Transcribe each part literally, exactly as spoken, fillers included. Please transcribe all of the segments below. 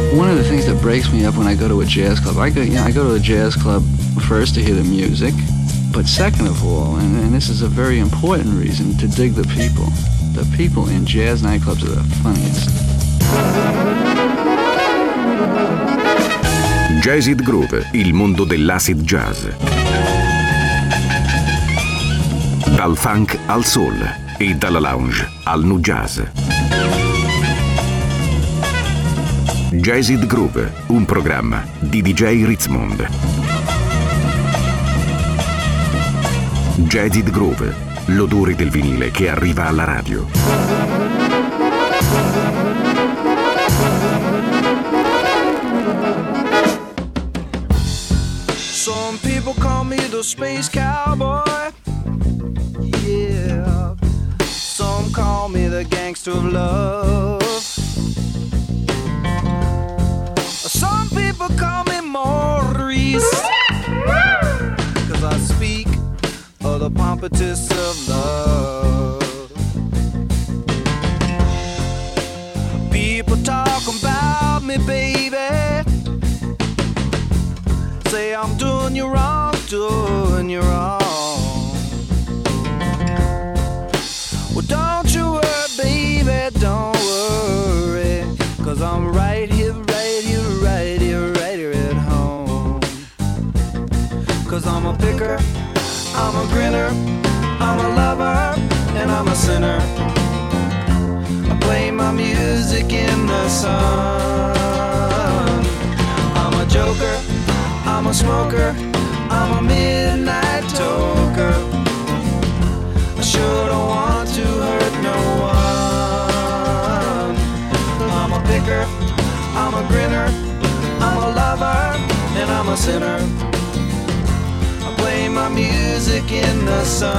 One of the things that breaks me up when I go to a jazz club, I go, you know, I go to a jazz club first to hear the music, but second of all, and, and this is a very important reason, to dig the people. The people in jazz nightclubs are the funniest. Jazzid Groove, il mondo dell'acid jazz. Dal funk al soul e dalla lounge al nu jazz. Jazzid Groove, un programma di D J Ritzmond. Jazzid Groove, l'odore del vinile che arriva alla radio. Some people call me the space cowboy. Yeah. Some call me the gangster of love. Some people call me Maurice, 'cause I speak of the pompatus of love. People talk about me, baby, say I'm doing you wrong, doing you wrong. Well, don't you worry, baby, don't worry, 'cause I'm right here, right here, right here, right here at home. 'Cause I'm a picker, I'm a grinner, I'm a lover, and I'm a sinner. I play my music in the sun. I'm a joker, I'm a smoker, I'm a midnight toker. I sure don't want to hurt no one. I'm a picker, I'm a grinner, I'm a lover, and I'm a sinner. I play my music in the sun.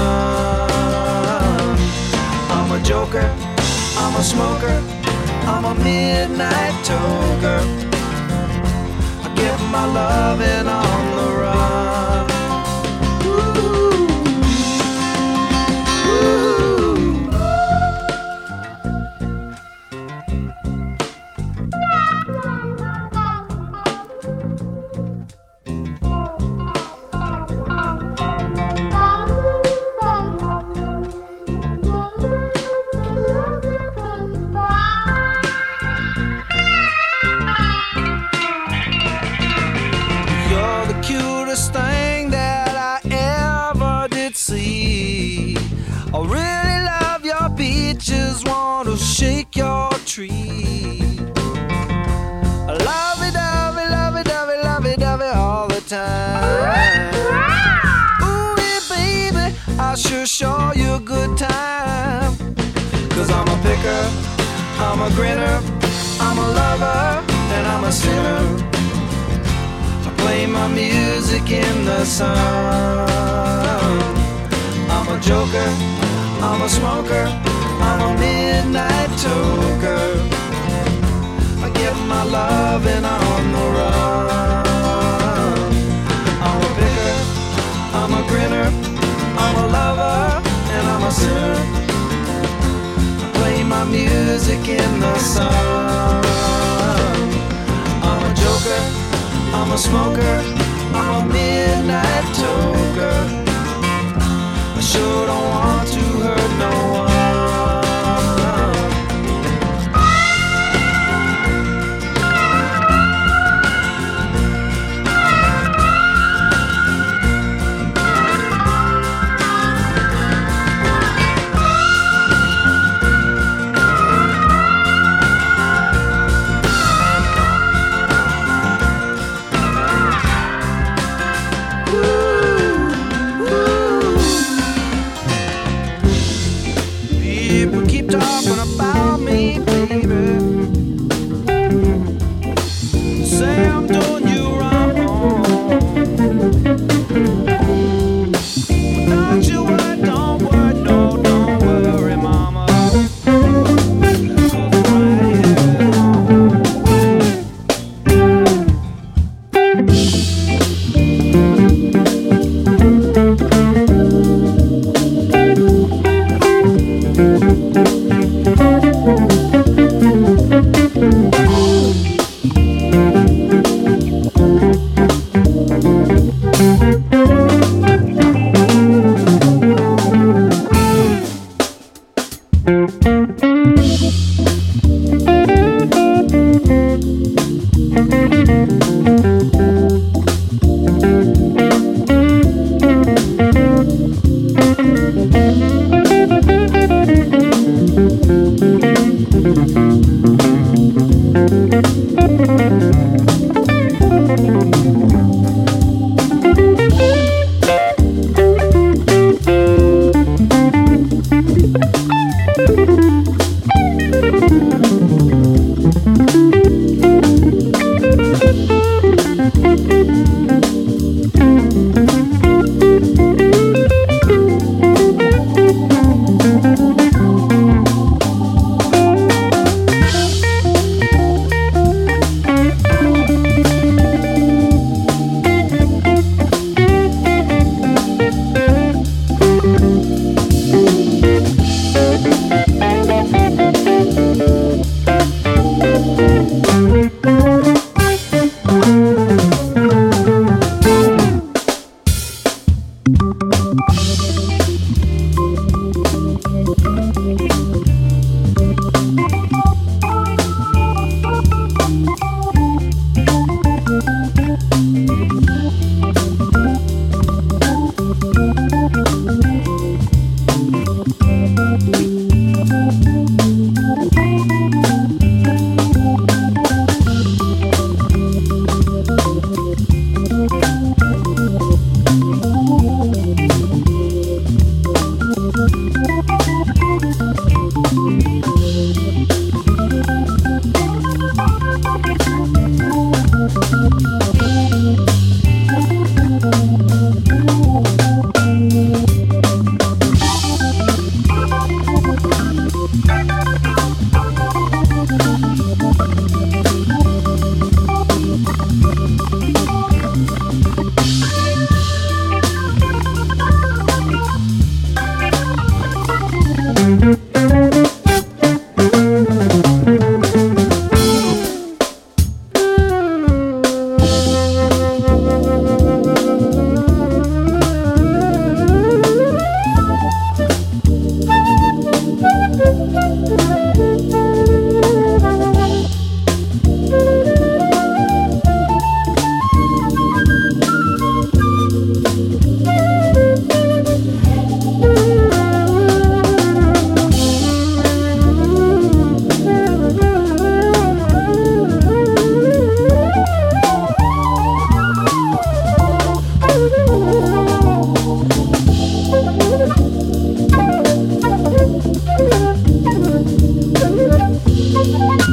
I'm a joker, I'm a smoker, I'm a midnight toker. I get my loving on the run. Ooh. Shake your tree. Lovey dovey, lovey dovey, lovey dovey all the time. Ooh, yeah, baby, I sure show you a good time. 'Cause I'm a picker, I'm a grinner, I'm a lover, and I'm a sinner. I play my music in the sun. I'm a joker, I'm a smoker, I'm a midnight toker. I get my loving on the run. I'm a picker, I'm a grinner, I'm a lover, and I'm a sinner. I play my music in the sun. I'm a joker, I'm a smoker, I'm a midnight toker. I sure don't want to hurt no one.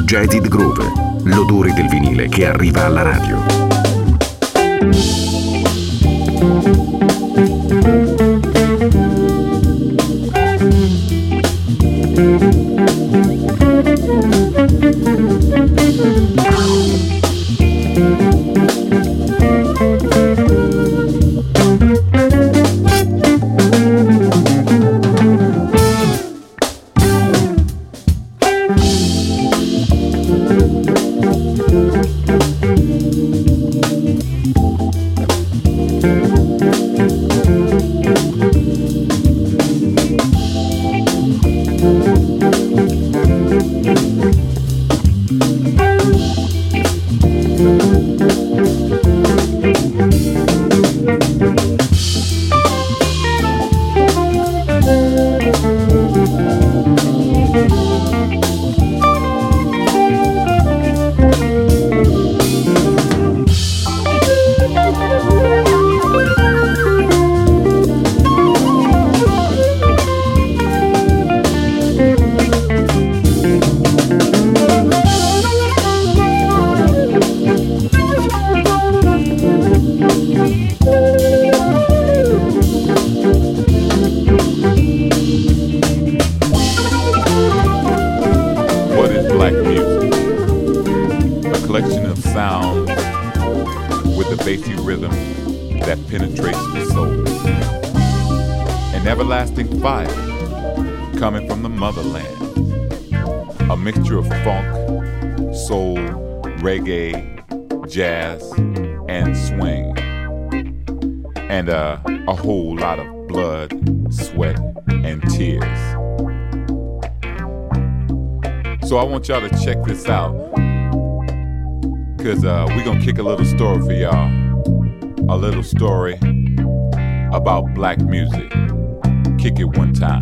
Jazzy Groove, l'odore del vinile che arriva alla radio. Jazz and swing, and uh, a whole lot of blood, sweat, and tears. So I want y'all to check this out, cause uh, we're gonna kick a little story for y'all, a little story about black music. Kick it one time.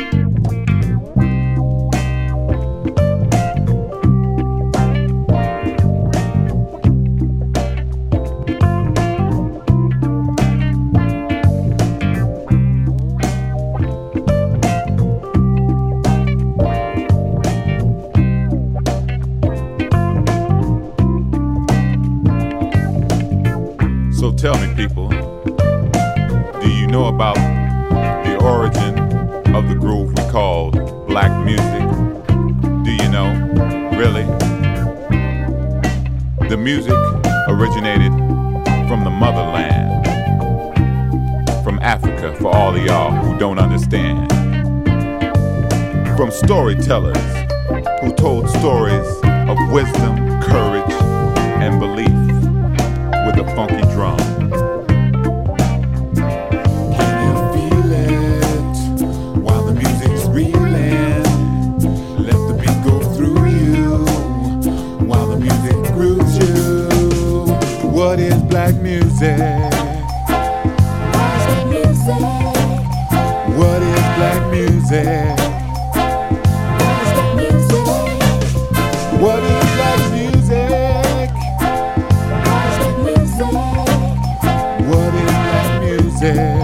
Tell me, people, do you know about the origin of the groove we call black music? Do you know? Really? The music originated from the motherland, from Africa, for all of y'all who don't understand. From storytellers who told stories of wisdom, courage, and belief with a funky drum. What is black music? What is black music? What is black music? What is black music?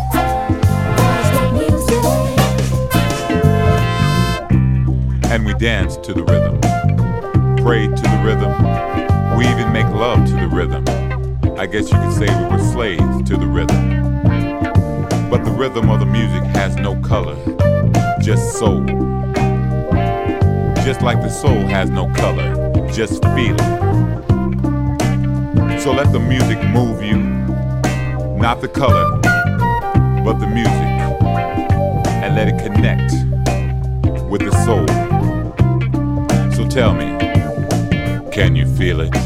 And we dance to the rhythm, pray to the rhythm. We even make love to the rhythm. I guess you could say we were slaves to the rhythm. But the rhythm of the music has no color, just soul. Just like the soul has no color, just feeling. So let the music move you, not the color, but the music. And let it connect with the soul. So tell me, can you feel it?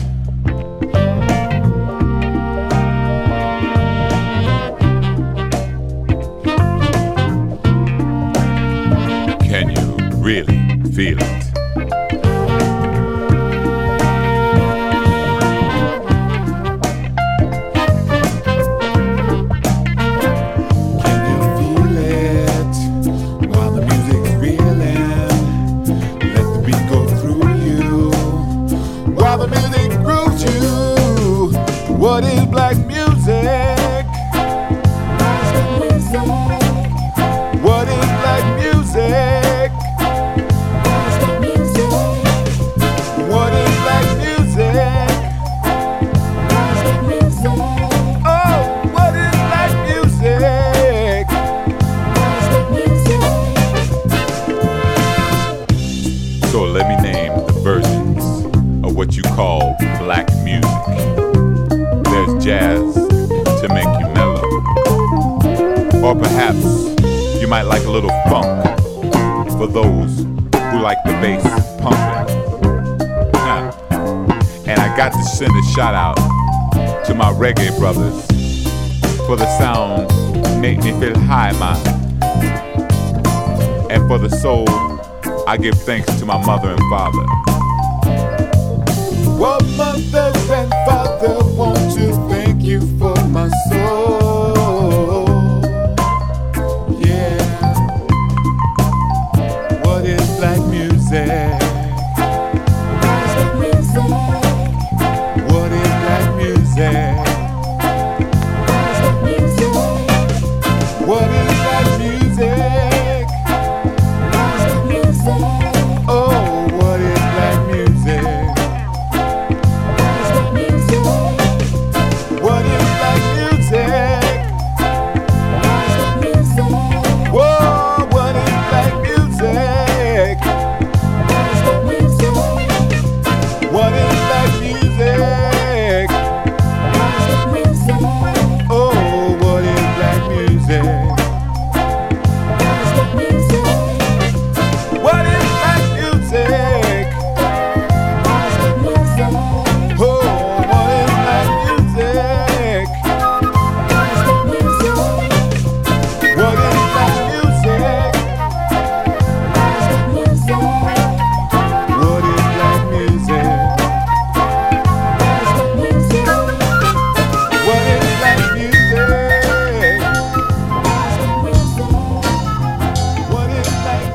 Can you really feel it? What is black music? What is black music? So let me name the versions of what you call black music. There's jazz to make you mellow, or perhaps you might like a little funk for those who like the bass pumping. Huh. And I got to send a shout out to my reggae brothers, for the sound make me feel high, man. And for the soul, I give thanks to my mother and father. Well, mother and father, want to thank you for my soul. Yeah. What is black music? What is black music? What is black music? Oh, what is black music? What is black music? Whoa, what is black music? What is black music? Oh, what is black music? What is black music? Oh, what is black music? What is black music? What is black music? What is black music? What is black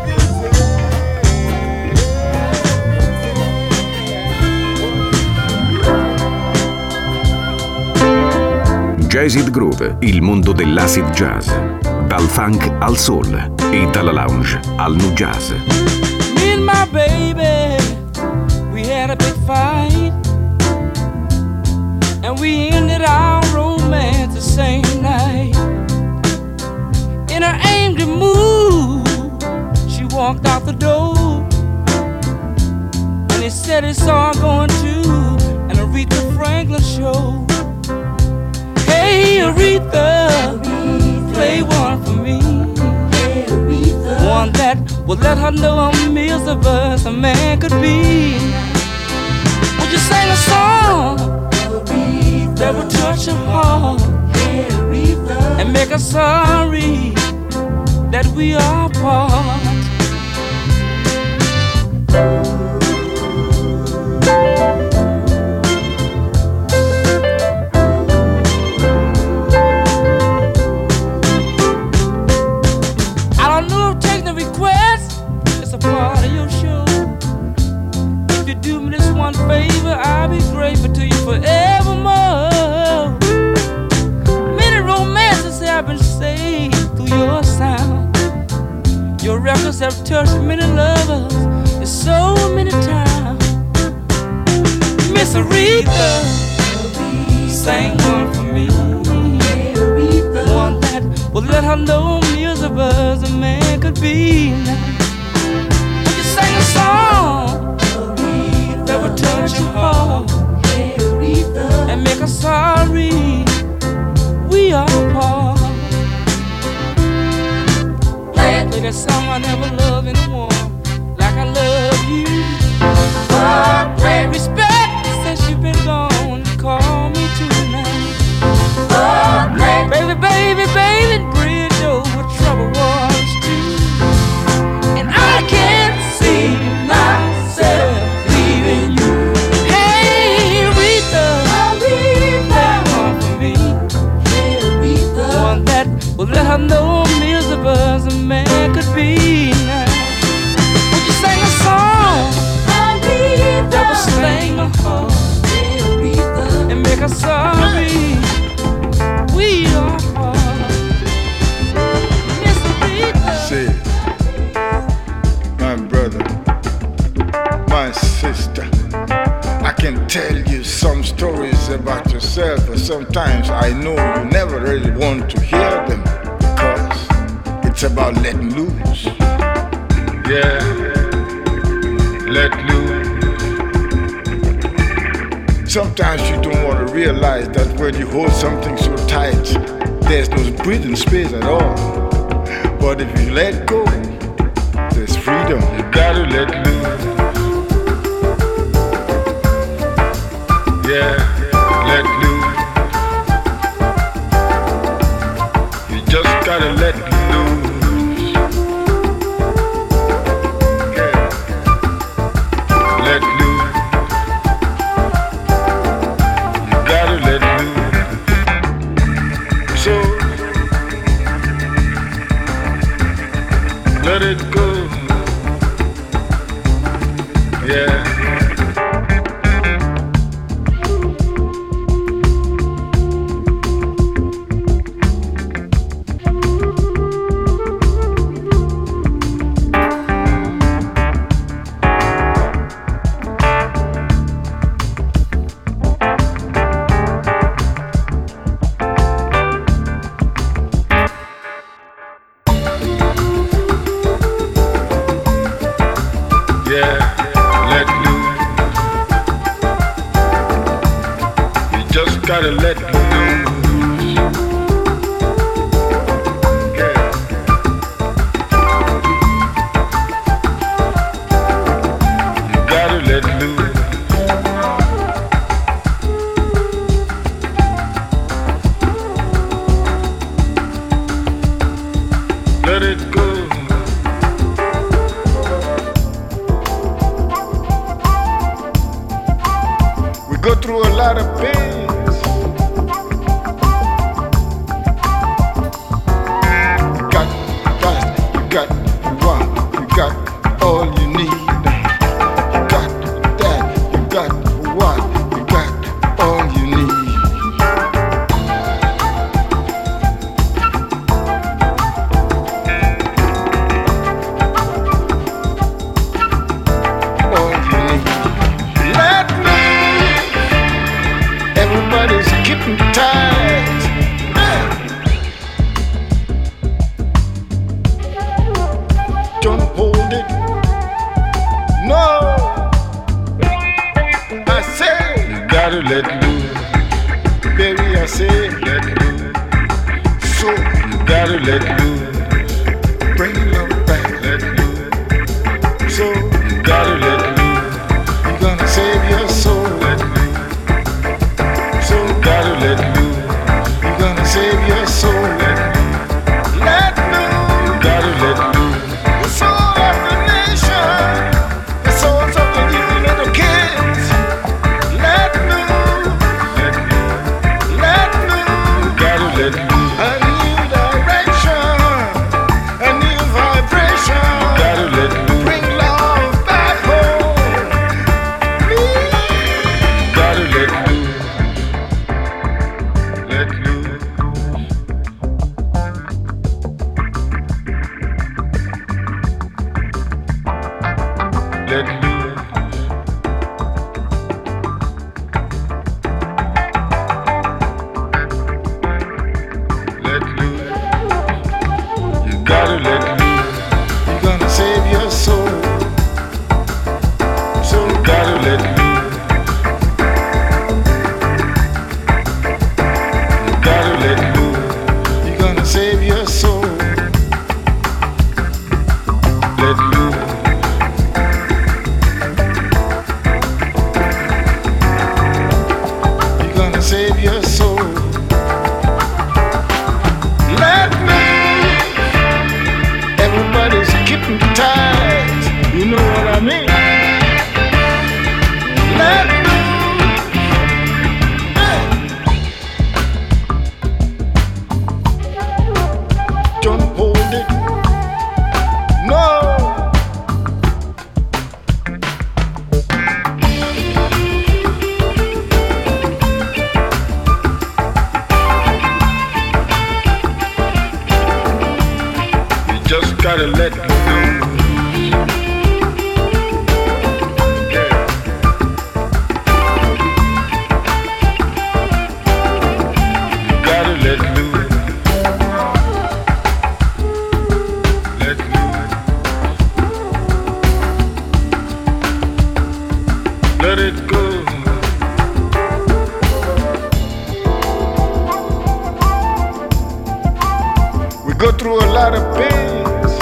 music? Jazzed Groove, il mondo dell'acid jazz. Dal funk al soul e dalla lounge al nu jazz. Me and my baby, we had a big fight, and we ended our romance the same night. In her angry mood, she walked out the door, and he said he saw her going to an Aretha Franklin show. Hey Aretha, play one for me, one that would let her know how miserable a man could be. Would you sing a song that would touch her heart and make her sorry that we are apart? I don't know if taking the request is a part of your show. If you do me this one favor, I'll be grateful to you forevermore. Many romances have been saved through your sound. Your records have touched many lovers and so many times. Miss Aretha, sing one for me, one that would let her know miserable as a man could be. Would you sing a song that would touch your heart and make her sorry we are apart? Play that song I never loved anyone like I love you. Oh, great respect since you've been gone. Call me tonight. Oh, great baby, baby, baby, bridge over troubled waters too. And I can't see myself leaving you. Hey, Aretha, play one for me, one that will let her know I'm miserable as a man could be now. Would you sing a song that will sling my heart and make her sorry we are apart? Miss Aretha. Say, my brother, my sister, I can tell you some stories about yourself, but sometimes I know you never really want to hear them because it's about letting loose. Yeah, sometimes you don't want to realize that when you hold something so tight, there's no breathing space at all. But if you let go, there's freedom. You gotta let loose. Yeah, let loose. You just gotta let loose. Yeah, let loose. You gotta let loose. So let it go. Yeah. Gotta let loose. Yeah. You gotta let loose. Let it go. We go through a lot of pain. Gotta let loose. Yeah. You gotta let loose. Let loose. Let it go. through a lot of pains.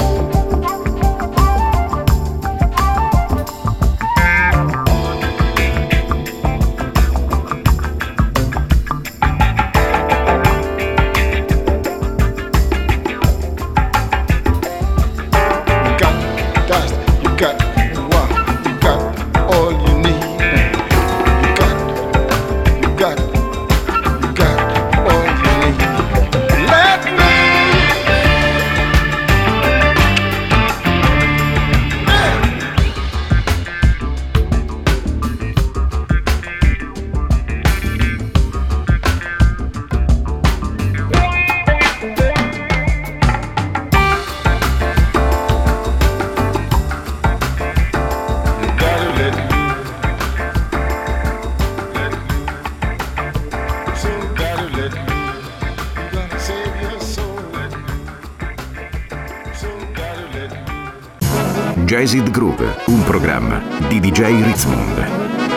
Jazzed Groove, un programma di D J Ritzmond.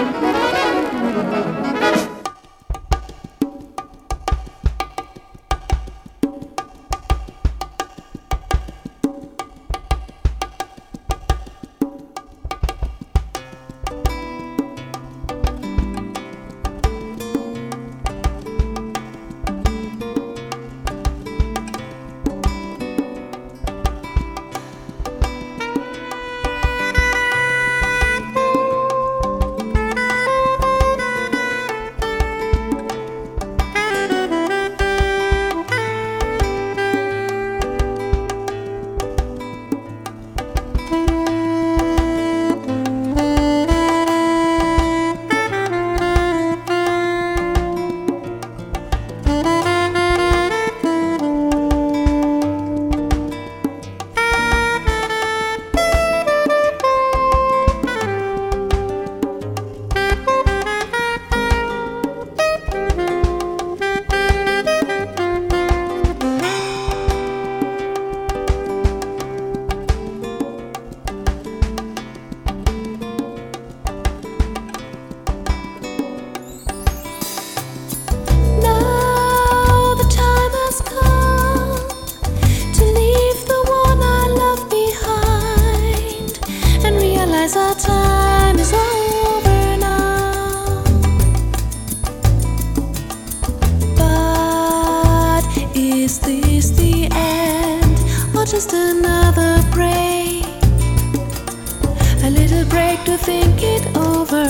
Just another break, a little break to think it over,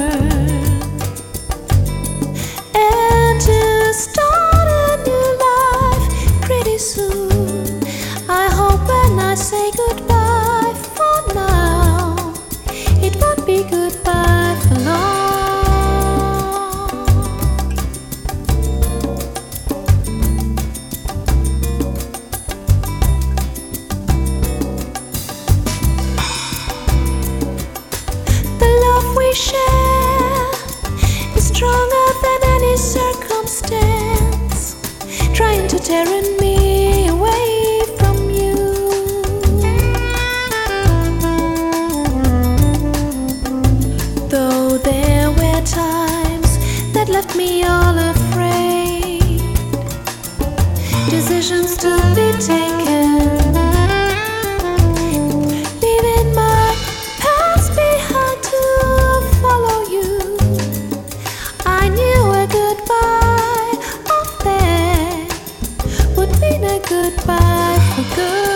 and to start a new life pretty soon. I hope when I say goodbye for now, it won't be goodbye for long. Share is stronger than any circumstance, trying to tear me away from you. Though there were times that left me all afraid, decisions to be taken, leaving my past behind to follow you. I knew a goodbye off there would mean a goodbye for good.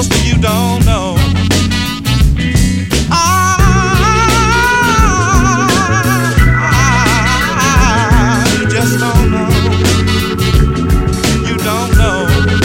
sister, you don't know. Ah, ah, you just don't know. You don't know.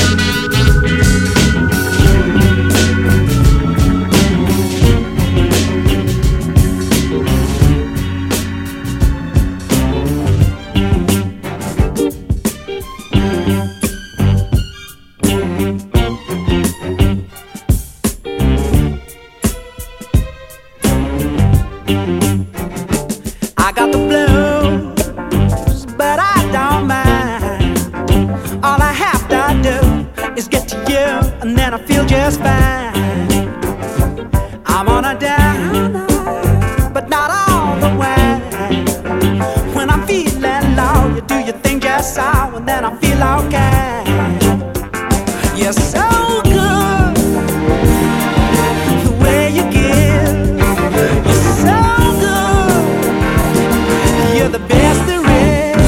I got the blues, but I don't mind. All I have to do is get to you, and then I feel just fine. I'm on a down, but not all the way. When I'm feeling low, you do your thing just so, and then I feel okay. You're so good, the way you give. You're so good, you're the best there is.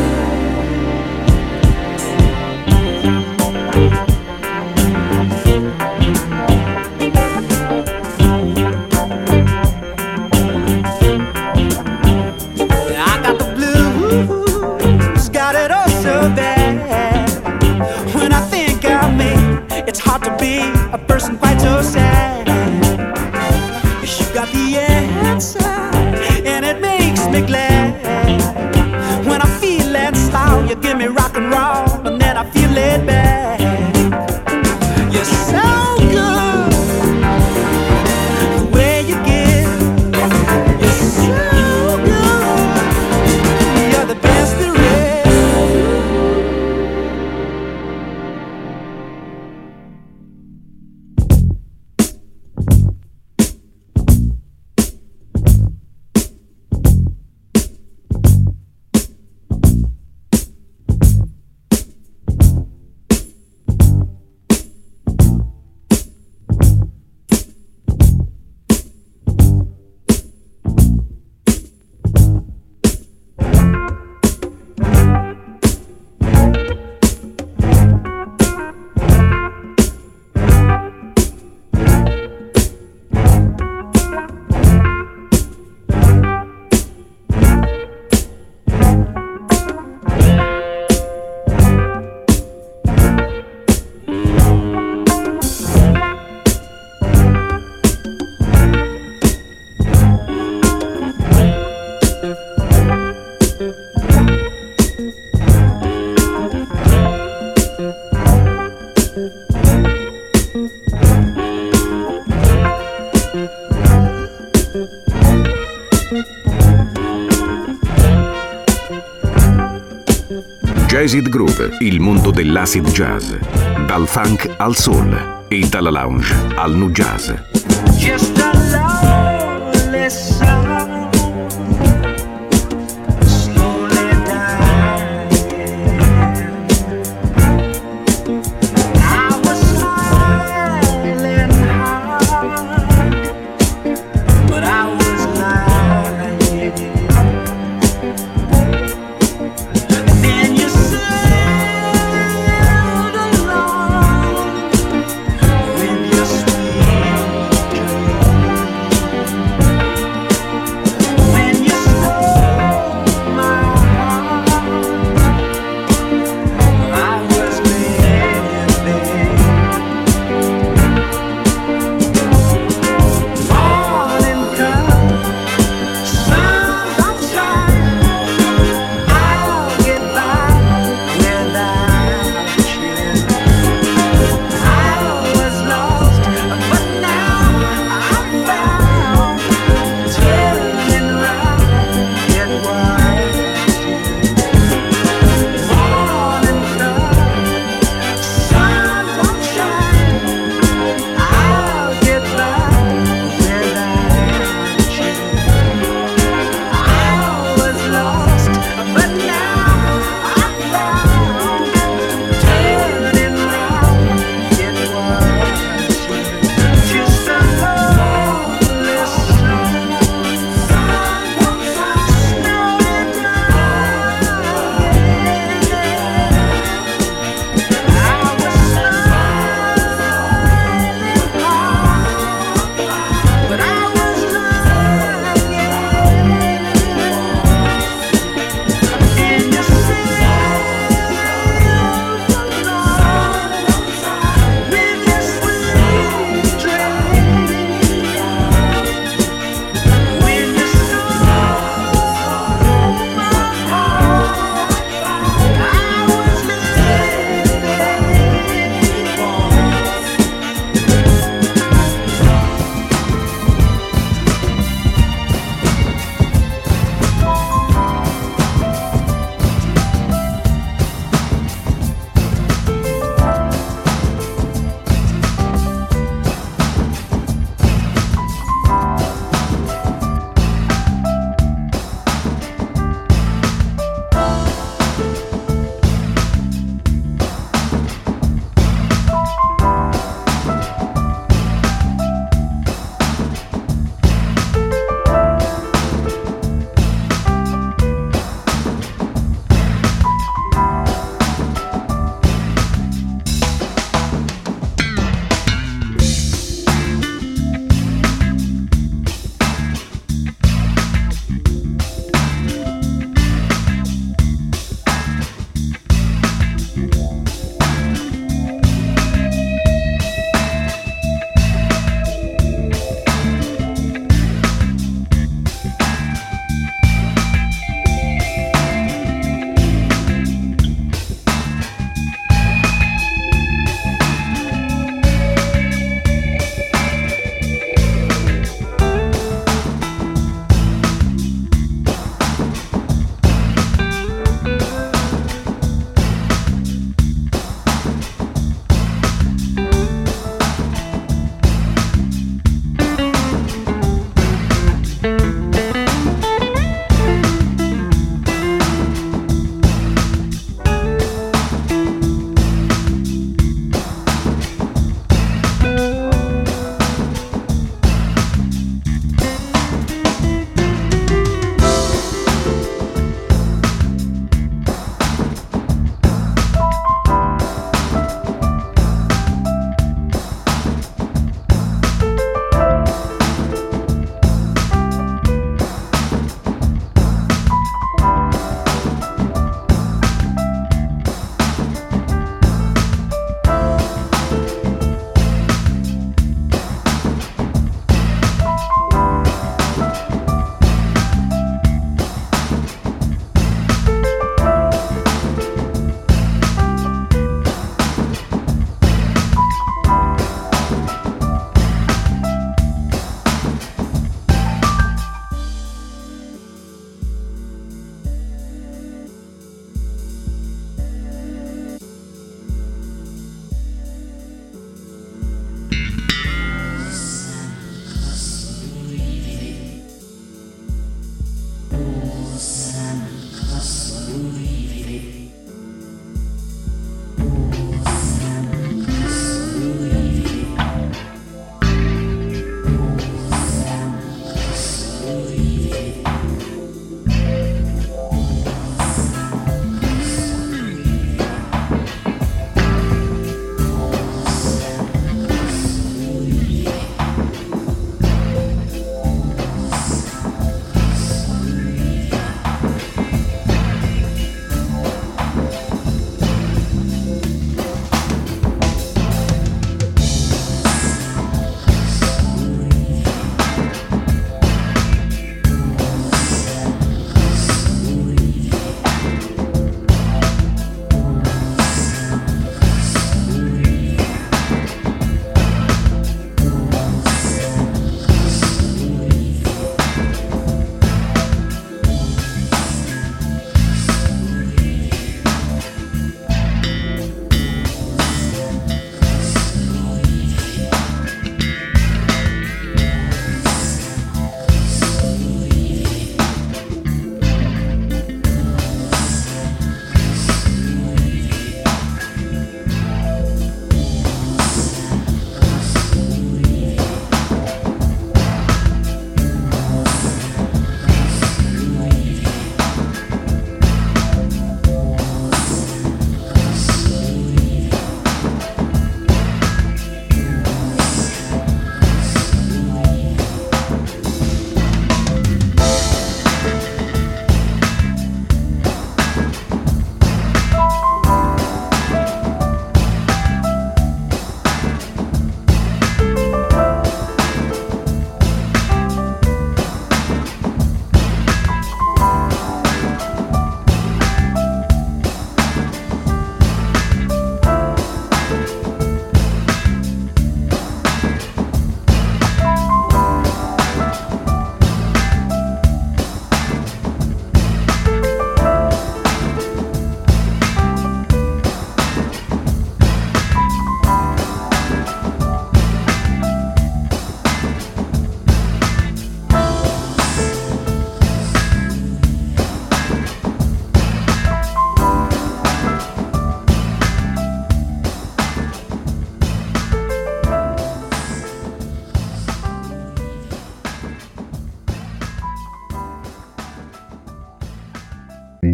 I got the blues, got it all so bad. When I think of me, it's hard to be a person quite so sad. You got the answer, and it makes me glad. When I'm feeling slow, you give me rock and roll, and then I feel it back. You're so good, the way you give. You're so good, you're the best there is. Jazzid Groove, il mondo dell'acid jazz. Dal funk al soul e dalla lounge al nu jazz. Just a lonely song, slowly dying. I was smiling hard, but I was lying. Then you sailed along with your sweet dream.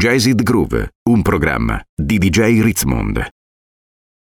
Jazzed Groove, un programma di D J Ritzmond.